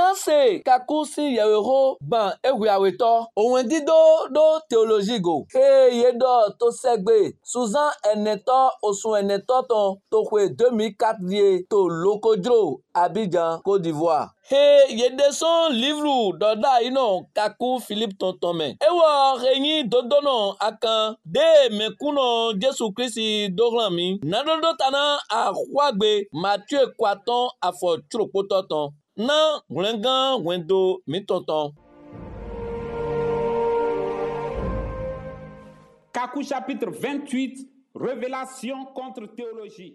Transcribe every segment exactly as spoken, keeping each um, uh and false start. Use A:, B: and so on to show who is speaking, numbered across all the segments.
A: Nanse kakusi yewero ban ewiaweto. Owen dido do théologie go. Hey yedo to segbe. Suzan eneto osun eneto ton to kwe deux mille quatre vie to Lokodro Abidjan Côte d'Ivoire. Hey yede son livre doda ino kaku Philippe Tontome. Ewo reyin dodono akan de mekuno Jesu Christi dorami. Nadodo tana a kwagbe Mathieu Kwaton afo tropototon. Na glengan wendo mitonton.
B: Kakou chapitre vingt-huit, révélation contre théologie.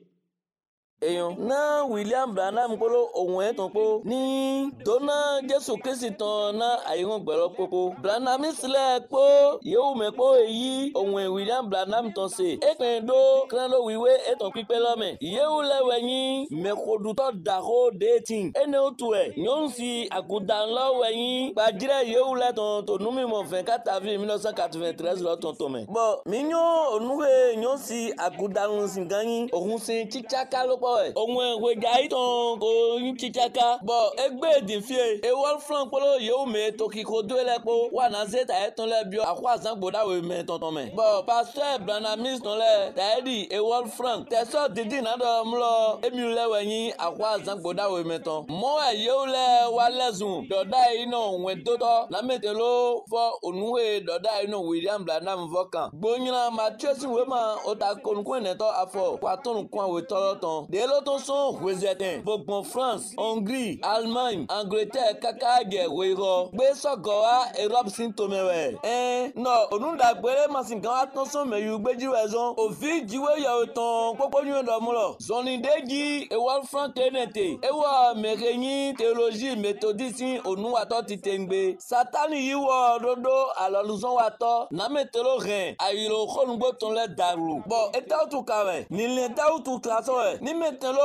A: Eyon na William Branham kolo ohun etan po ni dona Jesu Christi ton na ayiron gbero popo Branham sile po yewu me po eyi ohun William Branham ton se epen do krando wiwe etan pipe lome yewu lewe yin me koduto daro dating ene otu e nyon si akudan lo weyin gbajire yewu le ton to numi mo vingt-quatre avril mille neuf cent quatre-vingt-treize lo ton tome bo minyo onuwe nyon si akudan sin ganyin ohun sin chichaka lo ohun weja iton ko yin chichaka bo egbe dinfie e Wolfram polo yewu me to kiko do elepo wa na zeta eton le bio akwa san gboda we me tonton me bo pastor Branhamis ton le taedi e Wolfram teso didi na do mlo emi lewe yin akwa san gboda we me ton mo e yewu le wa lezun doda ino wen dodo la metelo fo onuwe doda ino William Branham vokan gbonyina Mathieu sin we ma o ta konkun neto afo kwa ton kun we toloton de l'autre son Wezeten, Bourbon France, Hongrie, Allemagne, Angleterre, Kakage, Wero, Besogoa, Europe Sintomewe. Eh, non, on a brûlé ma cinquante attention, mais you beji raison. Au fil du way, y'a autant, pourquoi nous dormons Son idée et Wolfram Kennedy, et wa Méréni, théologie, méthodiste, au nous à toi titengbe. Satan y wa dodo, alors nous on attend, n'a metelo rien, a eu le chonbo ton le darou. Bon, et t'as tout carré, ni l'état ou tout traçon, ni metelo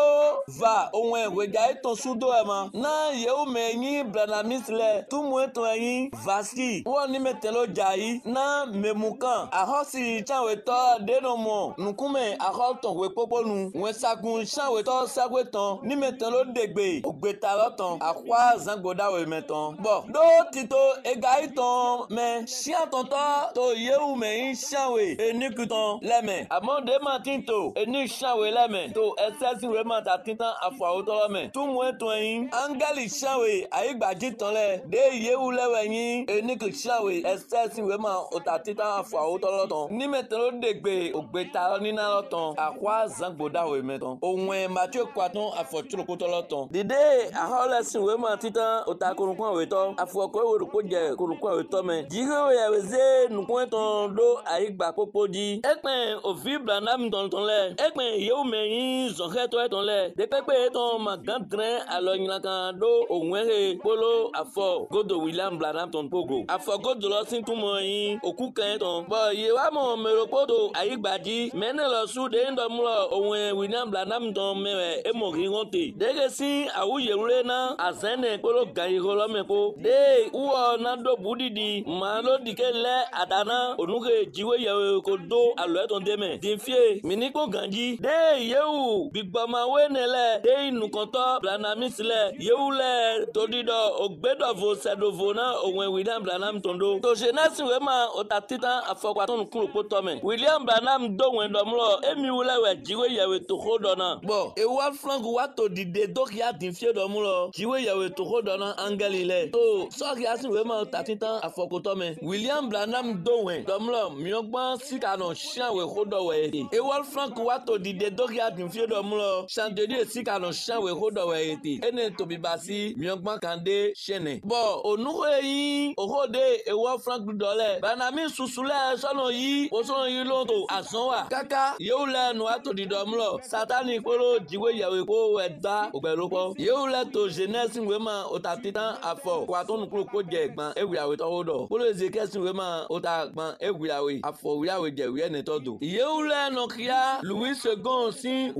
A: va onwe weja eton sudo ema na yewu menyi Branhamis le tu mu eton yin vasi won ni metelo jai na memukan ahosi chanwe to denomo nukume ahoton we poponu we sakun chanwe to sagweton ni metelo degbe ogbeta loton akwa zangoda we meton bo do tito ega iton me sia tonto to yewu menyi chanwe enikuton leme amode matinto eni chanwe leme to ss vraiment t'atteint à fois autant mais tout moins toi angali chawe aigbaji ton le de yewu leweyin enik chawe excess vraiment o t'atteint à fois autant lọ́tàn ni metelo degbe ogbeta ni na lọ́tàn akwa zangboda we meton ohun Mathieu Kwaton afotro ko lọ́tàn dide aholesin we ma titan o ta korunkan we to afoko we ro je korunkan we to me jiwe we weze nukun ton do aigba popoji epen ofi Branham ton ton le epen yewu meyin zonke to ton le de pepe ton magandrin alo yin kan do onwere polo afo godo William Branham ton pogo afo godo lo sin tun mo yin oku kan ton bo ye wa mo meropodo ayigbaji mene lo su de ndo mu lo ohun William Branham ton mewe e mo ri wonte de ge sin awuye re na azene polo gairo lo mepo de uwo na do budidi ma lo dikele adana onuge jiwe ye ko do alo ton de me dinfie miniko ganji de yewu bigboma wenele de inukonto Branhamis le yewule todido ogbedo vo sedovo na ohun William Branham tondo to jenasi we ma otatitan afokwaton kun poto me William Branham do wen domlo emi wule we jiwe yewe to hodona bo e wa frank wa to dide dokia dinfie domlo jiwe yewe to hodona angelile to so kiasi we ma otatitan afokoto me William Branham do wen domlo miogban sikano shan we hodo we e wa frank wa to dide dokia dinfie domlo chandelier sikano shan we hodo we eti ene to bibasi miogban kande shene bo onuwe yin ohode e wa frank dole Branham susule sono yi o sono yi lonto asanwa kaka yewule no ato didomlo satani polo jiwe yawe ko weda ogbelopo yewule to jeunesse wema otatitan afo kwaton kuro ko je gban ewiawe to hodo polo ezekesi wema otagban ewiawe afo wiawe je wi ene todo yewule no kia Louis second sin we pa le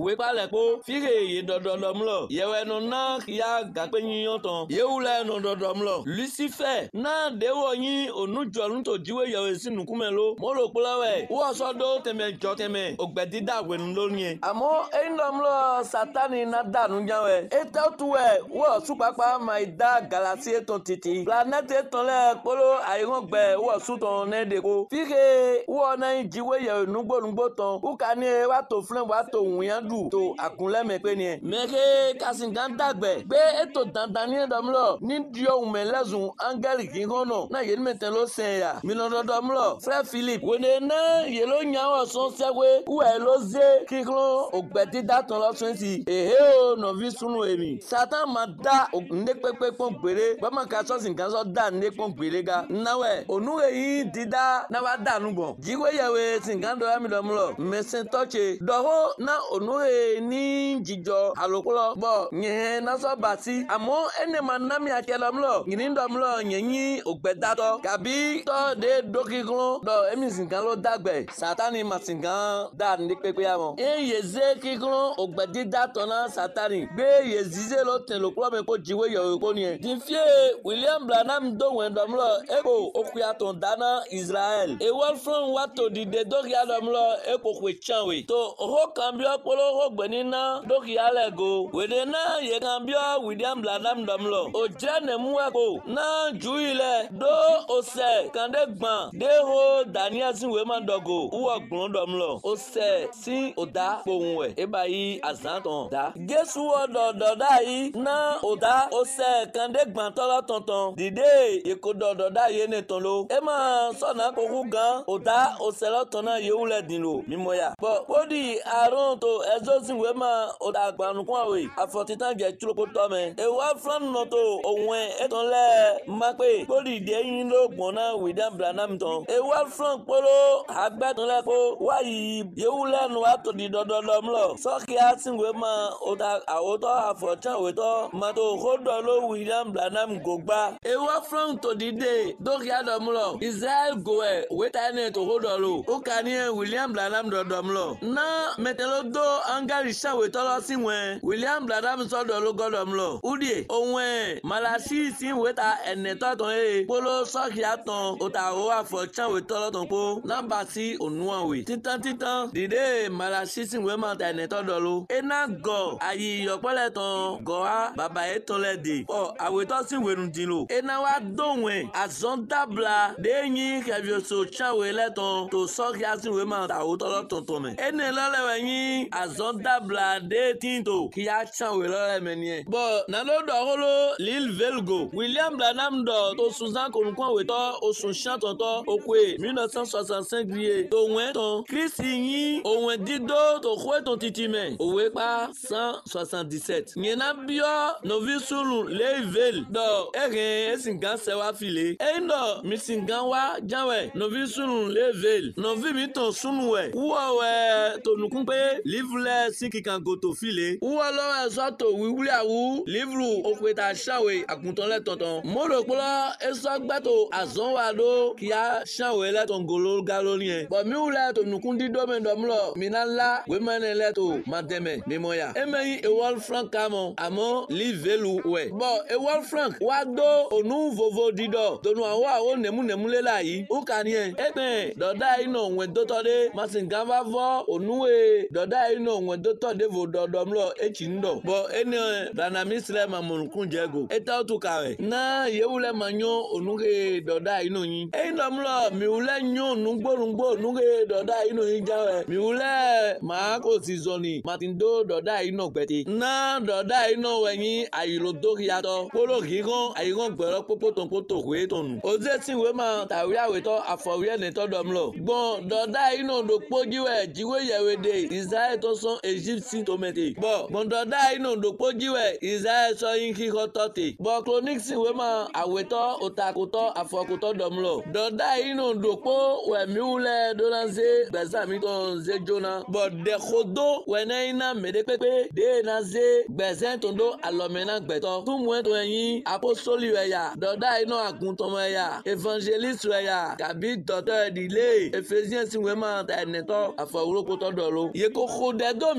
A: ko fire ye dododom lo yewe no na ya gape yin ton yewule no dodom lo Lucifer na dewo yin onujo nu to jiwe yewe sinu kumelo mo ro polawe wo so do teme jo teme ogbedi dagwe nu lo yin amo endom lo Satani na danu jawe eta tuwe wo supapa mai da galaxy ton titi planète ton le polo ayiron gbe wo su ton ne de ko fire wo na jiwe yewe nugbo nugbo ton ukani wa to flen wa to wiyan du to akunle me pe ni meke kasingan dagbe gbe eto dandan ni dom lo ni dio melezun angeli kingono na yen meten lo sen ya mi lo dom lo frère Philippe wene na yelo nyawo son sewe uwe lo ze kiklo ogbedi daton lo twenty ehe o no vi sunu emi Satan ma da nde pepe pon gbere ba ma ka so sin kan so da nde pon gbere ga nawe onuwe yi dida na wa da nu bon jiwe yewe sin kan do mi dom lo mesen toche doho na onuwe ni jijo alokolo bo nye na so bati amo ene manami akelom lo ngini dom lo nyenyi ogbedato kabi to de dokiklo do emi sin kan lo dagbe Satani ma sin kan da nde pepe amo e yeze kiklo ogbedi dato na Satani gbe yezize lo ten lo klo me ko jiwe yo ko ni din fie William Branham do wen dom lo eko okuya ton dana Israel e wol from wato di de dokia dom lo eko kwe chanwe to ho kambio polo ho gbenina dokia lego wede na ye kambio William Branham dom lo o jene mueko na juile do ose kande gban de ho Daniel sin we man dogo uwo gbon dom lo ose sin oda pohun we e bayi azanton da Jesu odo doda yi na oda ose kande gban tolo tonton dide eko dodo da ye ne ton lo e ma so na koku gan oda ose lo ton na ye wule din lo mimoya bo odi arun to ezo sin we ma oda gbanu kun awe afotitan je chuloko to me e wa flan no to ohun e ton le ma pe odi de yin lo gbon na William Branham ton e wa flan polo agbe ton le ko wa yi ye wule nu ato di dodo dom lo so ki asin we ma oda awoto afotan we to ma to hodo lo William Branham gogba e wa flan to di de do ki adom lo Israel go e we ta ne to hodo lo o kani William Branham dodom lo na metelo do angari shawe to lo sinwe William Branham so do lo godom lo udie ohun malasi sin we ta ene to ton e polo so ki aton o ta o afotan we to lo ton po namba si onuan we titan titan dide malasi sin we ma ta ene to do lo e na go ayi yopole ton go a baba e ton le de o awe to sin we run din lo e na wa dohun azondabla de yin kevio so chawe le ton to so ki asin we ma ta o to lo ton ton me ene lo le we yin azondabla de tinto ki a chawe lo le me ni bo na lo do holo lil velgo William Branham do to Susan konkon we to osun chan ton to okwe nineteen sixty-five biye to wen ton Christ yin ohun dido to kwe ton titime owe pa one seventy-seven yen na bio novisulu level do ere esingan se wa file e ndo misingan wa janwe novisulu level novi mi ton sunu we wo we to nukun pe livre sikikan go to file wo lo e so to wiwuli awu livre opeta shawe akunton le tonton mo ro polo e so gbato azon wa do ki a shawe le ton golo galoni e bo mi wule to nukun dido me do mlo minala we mane le to mademe memoya e meyin e wol frank kamo amo livelu we bo e wol frank wa do onu vovo dido tonu awa o nemu nemu le la yi o kan yen e pe doda ino wen do to de masinga va vo onu e doda ino wen do to de vo dodo mlo e chi ndo bo eni Branham Islam amunkun jego e ta tu kawe na ye wule manyo onu ke doda ino yin e ndo mlo mi wule nyo nu gborungbo nu ke doda ino yin jawe mi wule ma ko si zoni matindo doda ino gbeti na doda ino weyin ayilo do yato polo gigon ayigon gbero popo ton poto we tonu oze tin we ma tawi awe to afowe ne to dom lo gbon doda ino do pojiwe jiwe yewe de Israel to son Egypt to mete bo gbon doda ino do pojiwe Israel so yin ki ko tote bo chronic sin we ma awe to otakoto afokoto dom lo doda ino do po we mi ule do lanze beza mi ton ze jona bo de khodo we na ina mede pepe de na ze bezen tondo alomena gbeto tun mu to yin apostoli we ya doda ino agunton we ya evangelist we ya kabi docteur dile Ephesians sin we ma ta neto afawuro ko to do lo ye ko khode do mi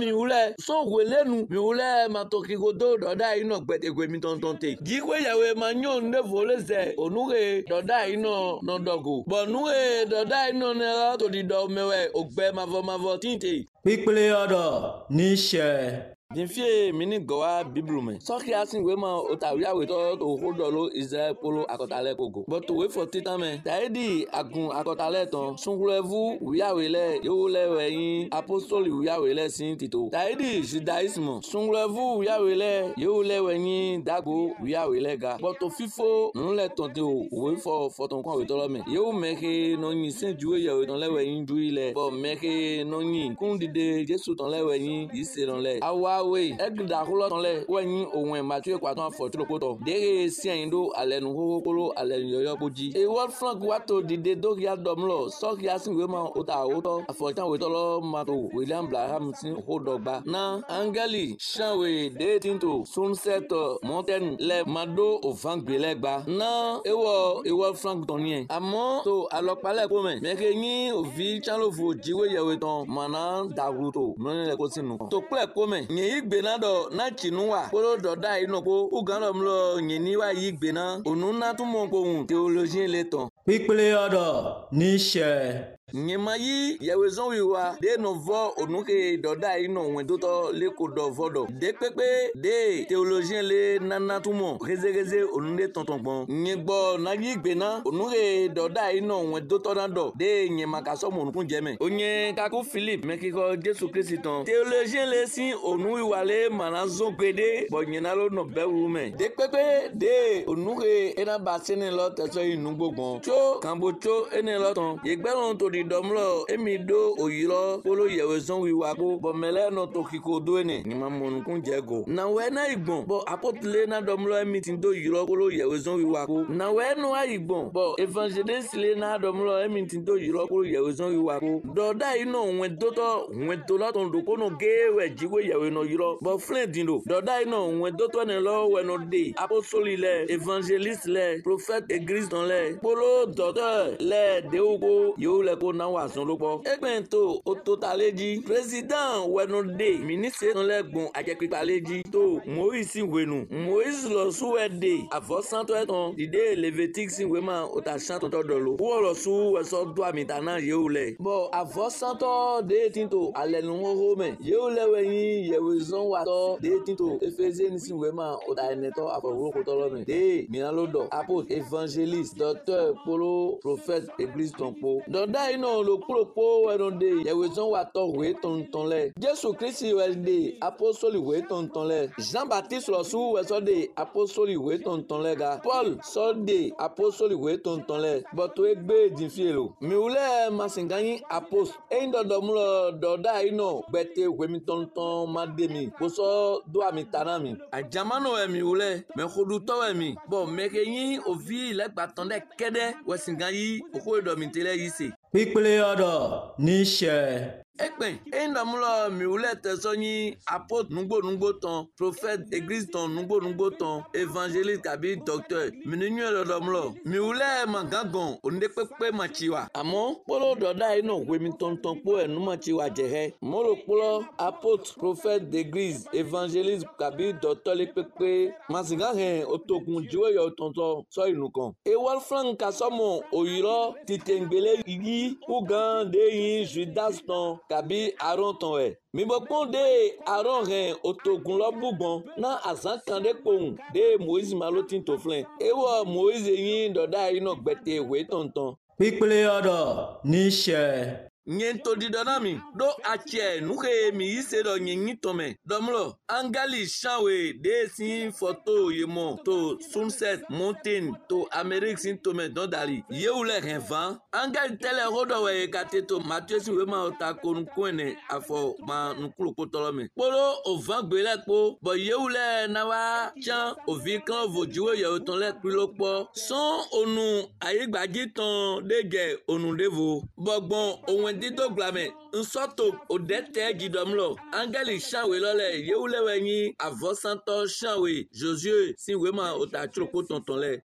A: mi wule so welenu mi wule matokigodo doda ino gbedegwe mi tontonte jikwe yawe manyo ne voleze onuge doda ino no dogo bonuge doda ino ne to di do mewe ogbe mavo mavo tinte
C: pípélé ọ̀dọ̀ níṣẹ́.
A: Dinfie mini gowa biblu me. Soki asin we ma otaria we to to hodolo Israel polo akotale kogo. But to wait for titan me. Taedi agun akotale ton. Sungulevu uya wele yo le weyin apostoli uya wele sin tito. Taedi judaisme. Sungulevu uya wele yo le weyin dago uya wele ga. But to fifo non le ton te o wait for for ton kon we to lo me. Yo meke no yin sin juwe ya we ton le weyin juwe le. But meke no yin kun dide Jesu ton le weyin yise don le. Awa we egda kolo ton le wenyin ohun Matthew kwaton fortune koto dere si ayindo alenu kokolo alenu yoyo boji e world flank wato dide do ya domlo so ya sin we ma ota oto afotan we to lo mato William Braham sin hodogba na angeli shanwe de tinto sunset mountain le mado ovangbelegba na ewo e world flank ton yen amo to alopale ko me meke yin ovi chanlofo jiwe yewe ton mana daguto no le ko sinu to ple ko me yin igbe na do na chinuwa polo do da ino ko ugano mlo nyini wa yigbe na onuna tumo ko hun theology le ton
C: pípélé ọ̀dọ̀ níṣẹ́.
A: nyema yi yewezon wiwa de novo onuke doda ino wen doto le ko do vodo de pepe de théologien le nana tumo rezereze onunde tontonpon nyegbo na yigbe na onuke doda ino wen doto na do de nyema kaso mo nukun jeme onye kaku Philip mekiko Jesu Christ ton théologien le sin onu wiwa le manazo gbede bo nyena lo no bewu me de pepe de onuke ena basene lo teso inu gbogbon cho kambo cho ene lo ton yegbelon to domlo emido oyiro polo yewezon wiwa ko bomele no tokiko doene ni mamon kun jego na we na igbon bo apotle na domlo emitin do yiro polo yewezon wiwa ko na we no igbon bo evangelist le na domlo emitin do yiro polo yewezon wiwa ko doda ino wen doto wen to laton do kono gewe jiwe yewe no yiro bo flendindo doda ino wen doto ne lo we no de apostoli le evangelist le prophète église dans le polo docteur le deugo yo le ko na wasun lopo egbento ototaleji president wenode ministre ton legbon ajepipaleji to Moise wenu Moise lo suwede avosanto eton dide Levitique sin wema otashan ton dolo wo lo su weso do amitana yeule bo avosanto de tinto alenu ho me yeule weyin yewezon wato de tinto Ephesiens sin wema otaneto aforo ko tolo me de minalodo apotre évangéliste docteur polo prophète église tonpo doda ino lo kuropo wenode yewezon wato we tonton le Jesu Christ welde apostoli we tonton le Jean Baptiste lo su weso de apostoli we tonton le ga Paul so de apostoli we tonton le boto egbe dinfielo mi ule masinganyi apost eindo domlo doda ino gbete we mi tonton mademi boso do amitana mi ajamano e mi ule me khodu to e mi bo mekeyin ovi le gbatonde kede wesinganyi oko do mi tele yise
C: pípélé ọ̀dọ̀ níṣẹ́.
A: Ekpen, endamulo miule tesoni apôtre nungbo nungbo ton, prophète église ton nungbo nungbo ton, évangéliste kabi docteur. Mininu elodomlo, miule mangangon, onde pepe machiwa. Amo, polo doda ino wemi ton ton po enu machiwa jehe. Molo polo apôtre, prophète d'église, évangéliste kabi docteur le pepe. Masiga hen otokun jiwe yo tonton so inukan. E Wolfgang kasomo oyiro titengbele igi ugan de yin Judas ton kabi Aaron ton e mi bo pon de Aaron ren otogun lo bugbon na azan kan de pohun de Moise malotin to flen e wo Moise yin doda ino gbete we tonton
C: pípélé ọ̀dọ̀ níṣẹ́.
A: nyento di donami do achie nuke mi ise do nyenyi tome domlo angali chanwe de sin photo yemo to sunset mountain to Amerique sin tome don dali yeule renvan angali tele rodo we kate to Mathieu si we ma ota kon kwene afo ma nukulu potolome polo o vangbele po bo yeule na wa chan o vi kan vojiwe ye ton le pilopo son onu ayegbaji ton dege onu devo bogbon ohun dito glame nsoto odete gidomlo angeli chanwe lole yeule wenyi avosanto chanwe Josué si we ma ota tropo tonton le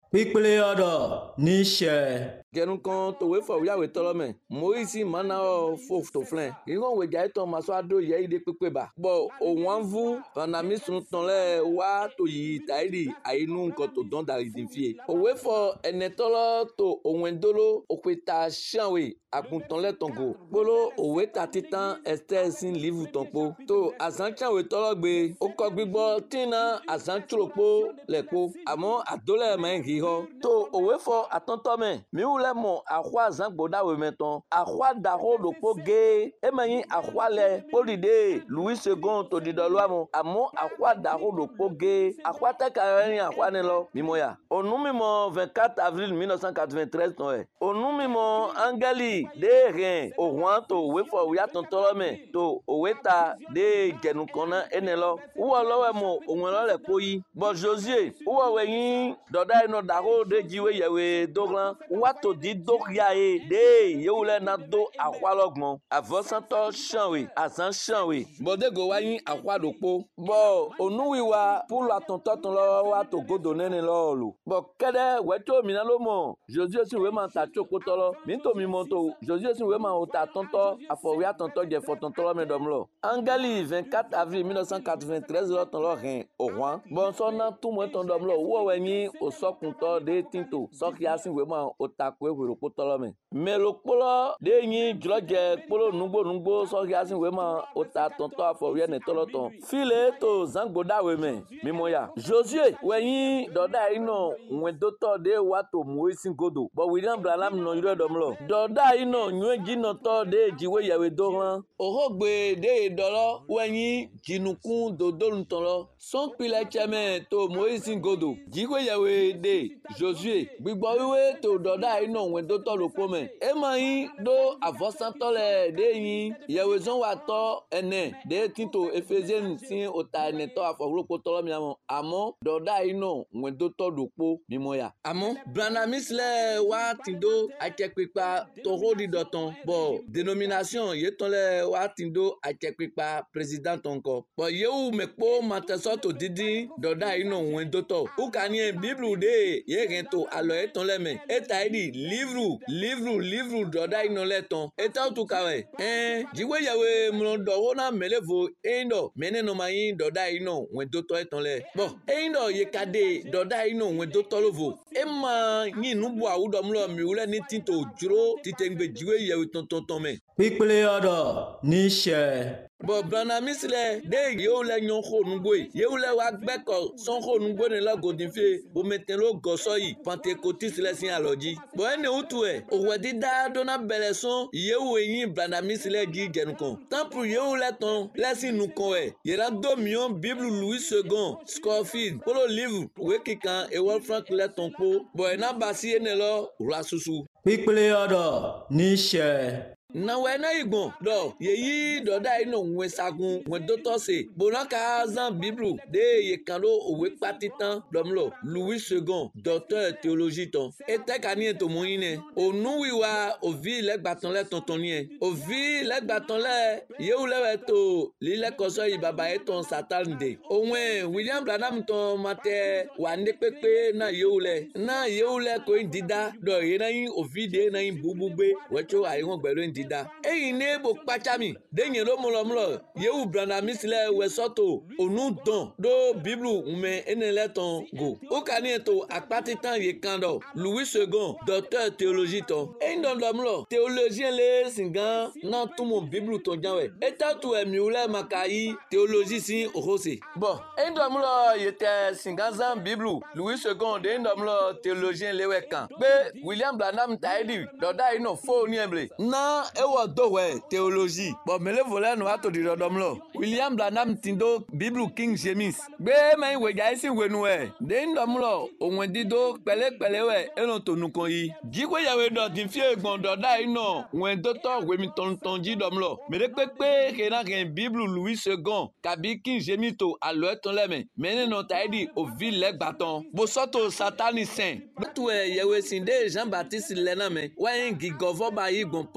C: Pípélé ọ̀dọ̀ níṣẹ́.
A: Gẹnu kan tòwé fọ wíyàwó tọlọ mẹ Moise mana ọ fò tó filẹ ìwọn wẹjà ìtàn maso adó yẹ ìdè pépé bá bọ òun à ń vu panami sun tán lẹ wá tó yìí tàìrì àyínú nǹkan tó dán dàrí dín fìyè òwe fọ ẹnẹ tọlọ tó òun ẹdọlọ òpèta ṣàwé àgùntàn lẹtàn gò kpolo òwe ta titan ẹsẹ sin livu tán kpó tó àzán ṣàwé tọlọ gbé ó kọ gbígbọ tìǹà àzán tsolopó lẹ kpó àmọ́ àdólẹ mẹ ń hí họ tó òwe fọ àtọ̀ntọ̀ mẹ miwu lẹ mọ àxɔ zãgbodawe mɛtɔn àxɔ daxɔ ɖokpo gee emenyi àxɔ lɛ kpɔɖiɖe louis second tó ɖiɖɔlɔamɔ àmọ́ àxɔ daxɔ ɖokpo gee àxɔ tɛka yɛ ni àxɔ ne lɔ mimɔya onu mimɔ vingt quatre avril mille neuf cent quatre-vingt-treize tɔn yɛ onu mimɔ angeli de hɛn òhun tó òwe fɔ òwe atɔntɔlɔ mɛ tó òwe ta de jɛnu kɔnɔ ene lɔ wúwɔ lɔwɛ mɔ òun lɔ lɛ kpoyi bɔn josie wúwɔ wɛ nyi dɔda yi nɔ daxɔ de dziwe yɛwe doglan wúwa tó di do ya ye de yewu lɛ na do àxɔ gbɔn avɔsãtɔ sãnwe azã sãnwe bɔdego wa nyi àxɔ ɖokpo bɔn onuwi wa pulu atɔntɔtɔn lɔ wa to godo nene lɔ lo bɔn kɛdɛ wɛtso mina ló mɔ josie si wema ta tso kpotɔ lɔ mi to mi mɔ to josie si wema o ta tɔntɔ afɔwi atɔntɔ dze fɔtɔntɔ lɔ mi dɔm lɔ angeli vingt quatre avril mille neuf cent quatre-vingt-treize lɔ tɔn lɔ hɛn òhun bɔn sɔna tumɔ tɔn dɔm lɔ wɔwɛ nyi osɔkuntɔ de tinto sɔkia si wema o ta koe wero kpotɔlɔ me melo kpolɔ de nyi dzrɔdze kpolo nugbo nugbo sɔhi asi we ma o ta tɔntɔ afɔ wiye ne tɔlɔ tɔn file to zãgbodawe me mimɔya josie wɛnyi dɔda yi nɔ ŋuedotɔ de wa to moisi godo bɔn william branham nɔ yɔrɔ dɔm lɔ dɔda yi nɔ nyuedzinɔtɔ de dziwe yawe do hlan ohogbe de dɔlɔ wɛnyi dzinukun dodolutɔlɔ sɔnkpilɛ tsɛmɛ to moisi godo dziwe yawe de josie gbigbɔ wiwe to dɔda yi nɔ ŋuedotɔ lokpo me ema yi do avɔsãtɔ le de yi yewezɔn wa tɔ ene de tito efezien si ota ene tɔ afɔwlokpo tɔlɔ miamɔ àmọ́ dɔda yi nɔ ŋuedotɔ ɖokpo mimɔya àmọ́ branamis lɛ wa ti do atsekpekpa tɔxɔ ɖiɖɔtɔn bɔn dénomination yetɔn lɛ wa ti do atsekpekpa président ŋkɔ bɔn yewu mekpo matɛsɔ to didi dɔda yi nɔ ŋuedotɔ wokanie biblu de ye hɛn to alɔ etɔn lɛ mɛ eta yi di livre livre livre dɔda yi nɔ lɛ tɔn eta tu ka wɛ ɛn dziwe yawe mlɔ dɔwɔ na melevo eyin dɔ mɛnɛ nɔ ma yi dɔda yi nɔ ŋuedotɔ etɔn lɛ bɔn eyin dɔ yeka de dɔda yi nɔ ŋuedotɔ lo vo ema nyi nubu awu dɔm lɔ miwu lɛ ni tito dzro titengbe dziwe yawe tɔntɔntɔn mɛ.
C: Pípélé ọ̀dọ̀ níṣẹ́.
A: bɔn branamis lɛ de yewu lɛ nyɔ xɔ nugbo yi yewu lɛ wa gbɛkɔ sɔn xɔ nugbo ne lɛ godinfe bomete lo gɔsɔ yi pantekotis lɛ si alɔ dzi bɔn ene wutu ɛ òwɛ dida dona bɛlɛ sɔn yewu enyi branamis lɛ dzi jɛnukɔn tampu yewu lɛ tɔn lɛ si nukɔn ɛ yɛrɛ do miɔn bible louis second scofield kpolo livre òwe kikan ewol frank lɛ tɔn kpo bɔn ena basi ene lɔ wla susu.
C: Pípélé ọ̀dọ̀ níṣẹ́.
A: nawɛ ne yi gbɔn dɔ yeyi dɔda yi nɔ ŋue sagun ŋue dotɔ se bona ka zan biblu de ye kan do òwe kpati tan dɔm lɔ louis second docteur théologie tɔn etɛ ka ni eto mo yin nɛ onuwi wa ovi lɛ gbatɔn lɛ tɔntɔn ni yɛ ovi lɛ gbatɔn lɛ yewu lɛ wɛ to li lɛ kɔsɔ yi baba yɛ tɔn satan de òun william branham tɔn ma tɛ wa ne kpekpe na yewu lɛ na yewu lɛ ko yin dida dɔ ye na yin ovi de na yin bubugbe wɛtso ayi ŋɔ gbɛlo yin dida eyi ne bo kpatsami de nye lo mlɔmlɔ yewu branamis lɛ wɛsɔto onu dɔn do biblu ŋume ene lɛ tɔn go wokani eto akpati tan ye kan dɔ louis second docteur théologie tɔn eyi dɔndɔmlɔ théologien le singan na tumo biblu tɔn janwɛ eta tu ɛmiwu lɛ maka yi théologie si ohose bɔn eyi dɔmlɔ yetɛ singan zan biblu louis second de eyi dɔmlɔ théologien le wɛ kan pe william branham ta yi di dɔda yi nɔ fo ni ɛble na ewɔ dɔwɛ théologie bɔn melevo lɛ nu ato di dɔdɔm lɔ william branham ti do biblu king james gbé mɛ wɛdza esi wenu wɛ de ŋdɔm lɔ òun di do kpɛlɛkpɛlɛ wɛ eno to nukun yi dzikpe yawe dɔ ti fie gbɔn dɔda yi nɔ ŋun dotɔ wemi tɔntɔn dzi dɔm lɔ mɛ de kpekpe hena hɛn biblu louis second kabi king james to alo etɔn lɛ mɛ mɛ ne nɔ ta yi di ovi lɛ gbatɔn bosɔto satani sɛn bɛtu ɛ yɛwɛ sin de jean baptiste lɛ na mɛ wɛyin gigɔvɔ ba yi gbɔn paul dzi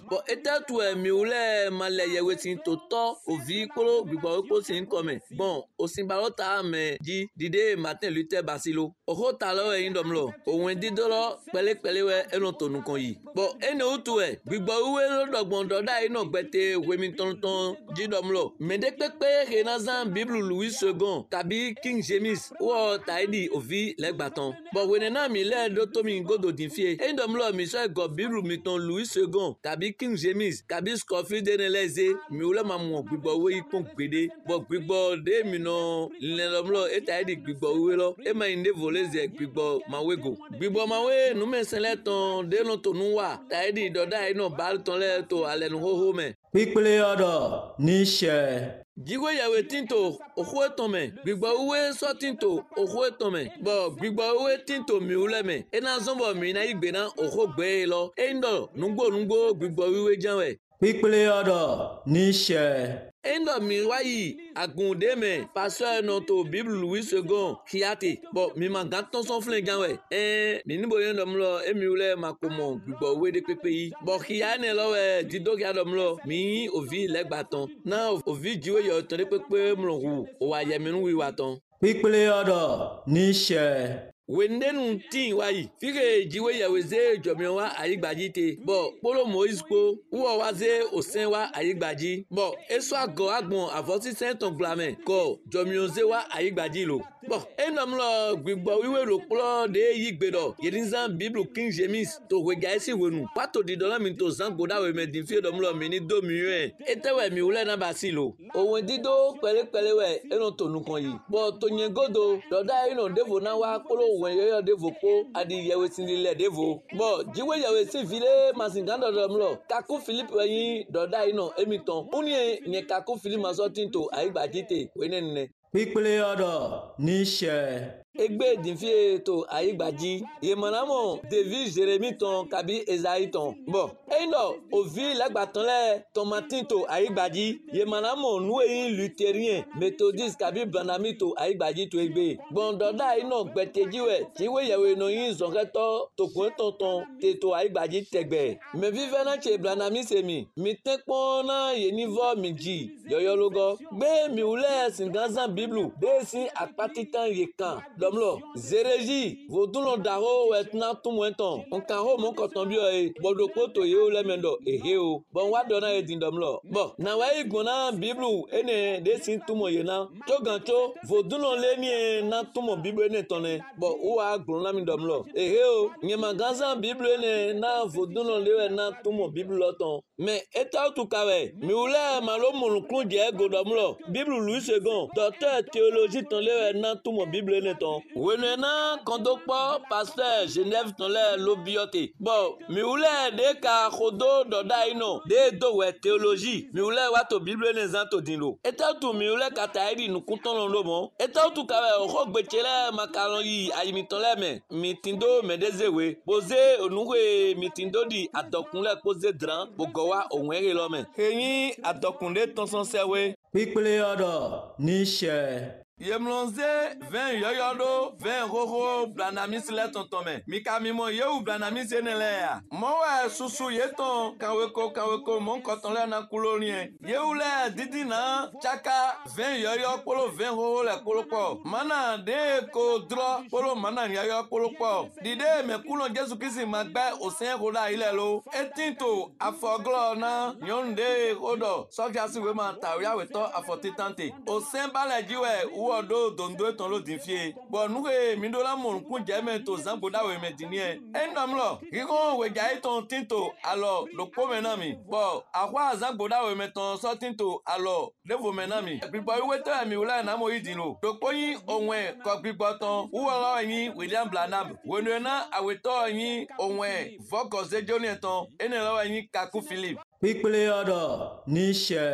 A: Bon, était tout mi ule male yewe tin to to ovi kolo gbigbo ko sin come. Bon, osin barota me di dide Martin Luther Basilo. Oho ta lo yin dom lo. Ohun didolo pele pele we eno tonu kan yi. Bon, ene utu e gbigbo uwe lo dogbon doda ino gbete wemi ton ton di dom lo. Mede pepe renazan Bible Louis second tabi King James wo taidi ovi legbaton. Bon, wenena mi le do to mi godo din fie. En dom lo mi so go Bible mi ton Louis second tabi King James tabi Scofield deneleze mi ule mamu gbigbo uwe ipon gbede. Bon, gbigbo de mi no le dom lo e taidi gbigbo uwe lo. E ma inde voleze gbigbo mawego. Gbigbo mawe nu me sele ton de no to nu wa taidi doda ino bal ton le to alenu hoho me.
C: Pípele ọ̀dọ̀ níṣẹ́.
A: Jigwe yawe tinto okhwe tome gbigbo uwe so tinto okhwe tome bo gbigbo uwe tinto mi uleme ena zombo mi na igbe na okho gbe lo endo nugbo nugbo gbigbo uwe janwe.
C: Pípele ọ̀dọ̀ níṣẹ́.
A: Endo mi wayi agunde me pasteur no to Bible Louis second kiate bo mi ma ganton son flen janwe eh mi ni boyen dom lo e mi ule makomo gbigbo uwe de pepe yi bo kiane lo we dido ki adom lo mi ovi legbaton na ovi jiwe yo ton de pepe mlongu o wa ye mi nu wi waton.
C: Pípele ọ̀dọ̀ níṣẹ́.
A: Wendenu tin wayi fike jiwe yaweze jomion wa ayigbaji te bo polo Moise ko uwo waze osen wa ayigbaji bo eso ago agbon avosi senton glame ko jomion ze wa ayigbaji lo bo enom lo gbigbo wiwe lo polo de yigbedo yedinzan Bible King James to wega esi wenu pato di dola mi to zango da we me din fi dom lo mi ni do mi yen etewe mi ule na basilo ohun dido pele pele we eno to nu kan yi bo to yen godo doda ino devo na wa polo wen yoyo devo ko adi yewe sinile devo bo jiwe yewe si vile masingando dom lo kaku Philip yin doda ino emiton uni nye kaku Philip maso tinto ayigbaji te wenene.
C: Pípele ọ̀dọ̀ níṣẹ́.
A: Egbe dinfie to ayigbaji yemanamo David Jeremy ton kabi Esaïe ton bon eno ovi lagbaton le tomatin to ayigbaji yemanamo nueyin luthérien methodiste kabi Branhami to ayigbaji to egbe bon doda ino gbetejiwe tiwe yewe no yin zonreto to kun tonton te to ayigbaji tegbe me vive na che Branhami semi mi tenpon na yenivo miji yoyologo gbe mi ule singazan Bible de si apatitan yekan domlo zereji voduno daro wetna tumwenton onka ho mon koton bi o bodoko to ye o lemendo ehe o bon wa dona e din domlo bon na wa igona Bible ene de sin tumo ye na toganto voduno le ni na tumo Bible ene tonne bon o wa gbon na mi domlo ehe o nye magaza Bible ene na voduno le na tumo Bible loton mais eta tu kawe mi ule malo mulukun je godomlo Bible Louis second docteur théologie ton le na tumo Bible ene ton wenena kondokpo pasteur Genève ton le lobiote bon mi ule de ka khodo doda ino de do we théologie mi ule wato Bible ne zanto dinlo eta tu mi ule kataidi nu kunton lo bon eta tu kawe o gbechele makaron yi ayimi ton le me mi tindo me dezewe poze onuwe mi tindo di adokunle poze dran bogowa ohun ere lo me eyin adokunle ton son sewe.
C: Pípele ọ̀dọ̀ níṣẹ́.
A: Yemlonze vingt yoyodo vingt roho Branhami sile tontome mikamimo yewu Branhami senele ya mowe susu yeton kaweko kaweko mon koton le na kulorien yewu le didi na chaka vingt yoyo polo vingt roho le kolopo mana de ko dro polo mana yoyo kolopo dide me kulon Jesu Kristi magba osen roda ile lo etinto afoglo na yonde odo soja siwe ma tawya weto afotitante osen balejiwe odo dondo ton lo dinfie bo nuke mi do la mon kun jeme to zango da we medini endom lo kiko we jai ton tinto alo lo po menami bo akwa zango da we meton so tinto alo levo menami bibo we to mi ula na mo yidin lo lo po yin onwe ko bibo ton wo lo yin William Branham wenu na aweto yin onwe voko ze joni ton ene lo yin Kaku Philip.
C: Pípele ọ̀dọ̀ níṣẹ́.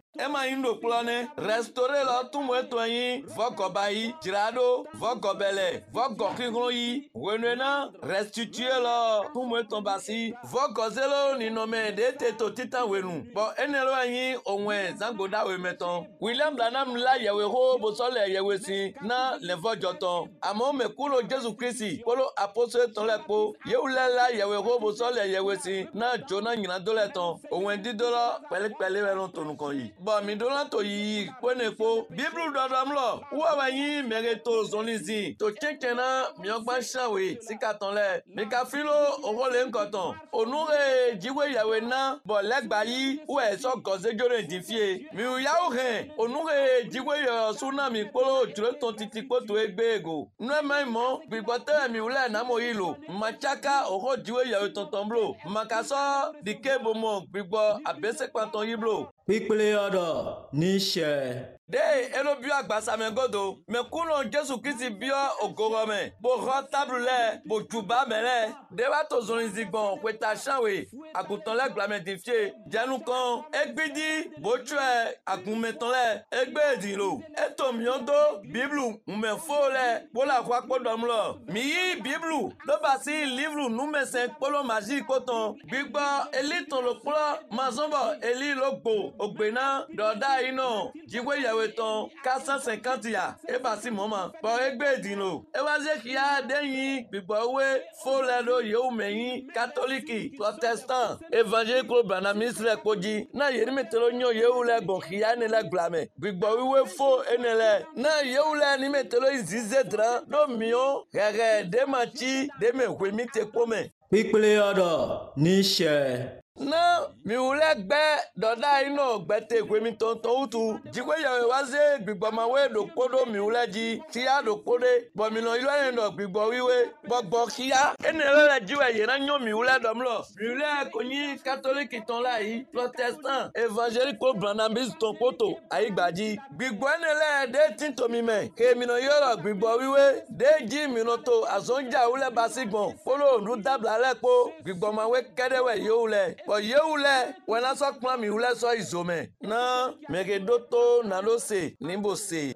A: ema yin do kplɔ ne restauré lɔ tumu eto yin vɔgɔba yi dzraɖo vɔgɔbɛlɛ vɔgɔ kiklo yi wenue restitué lɔ tumu eto basi vɔgɔzelo ninɔmɛ de te to titan wenu bɔn ene lɔ yin òwɛn zangoda wemetɔn William Branham la yewe ho bosɔlɛ yewe si na le vɔdzɔtɔn amewo me kulo Jésus Christ kpolo apostole tɔn lɛ kpo yewu lɛ la yewe ho bosɔlɛ yewe si na dzona nyina do lɛ tɔn òwɛn dido lɔ pɛlɛpɛlɛ wɛ lɔ tonu kɔn yi bɔn mi do la to yi kpone kpo biblu dɔdɔm lɔ wɔwɛ yin mɛre to zɔlizi to tsɛtsɛ na miɔgba siawe sika tɔn lɛ mikafilo owó le ŋkɔtɔn onure dziwe yawe na bɔn lɛgba yi wɛ sɔ gɔzedzo le di fie miu yawo hɛn onure dziwe yɔ suna mi kpolo dzro tɔn titi kpoto egbe ego nuema mɔ gbigbɔtɛ mi wulɛ namo yi lo matsaka oho dziwe yawe tɔntɔn blo makasɔ dike bomɔ gbigbɔ abese kpatɔn yi blo.
C: Pípélé ọ̀dọ̀ níṣẹ́.
A: de elo bio agbasame godo me kuno Jésus Christ bio ogorome bo ro table le bo juba mele de wa to zon zigbon kweta chanwe agutan le glamedifie janu kan egbidi bo tue agunmetan le egbe edilo eto miondo bible me fo le bo la kwa podom lo mi yi bible do ba si livre nume cinq polo magie koton gbigbo eliton lo plo mazombo eli logbo ogbena doda ino jiwe yawe ton quatre cent cinquante ya e ba si mama bo egbe edilo e wa je ki ya deyin gbigbo we fo le lo yewu meyin catholique protestant évangélique Branhamiste le koji na yeri metelo nyo yewu le gbon ki ya ne le glame gbigbo wiwe fo enele na yewu le ni metelo izize dran do mio gege de machi de me hwemi te pome
C: Pípélé ọ̀dọ̀ níṣẹ́.
A: na mi wule gbe doda ino gbete gwemi tonton utu jigwe yawe waze gbigbo mawe do podo mi wule ji ti ya do pode bo mi no ilo en do gbigbo wiwe gbogbo kiya enele le jiwe ye na nyo mi wule domlo mi wule konyi catholique ton la yi protestant évangélique Branhamiste ton poto ayi gbaji gbigbo enele de tinto mi me ke mi no yoro gbigbo wiwe de ji mi no to azonja wule basigbon polo ndu dabla lepo gbigbo mawe kedewe yo wule bo yeule wena so kplan mi wule so izome na megedoto na lo se nimbo se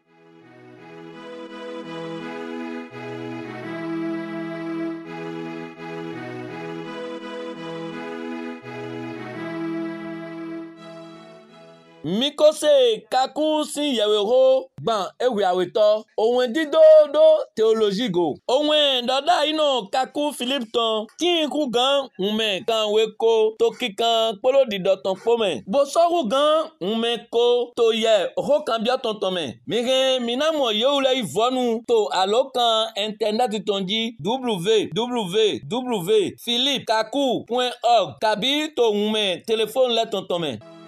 A: mikose kaku si yewe ho gban ewe aweto ohun didodo theology go ohun doda ino kaku Philip ton tin ku gan nme kan we ko to kikan polo didoton pome bo soru gan nme ko to ye ho kan bia tonton me mi re minamo yeule ivonu to alokan internet tonji w w w philip kaku point org kabi to nme telephone le tonton me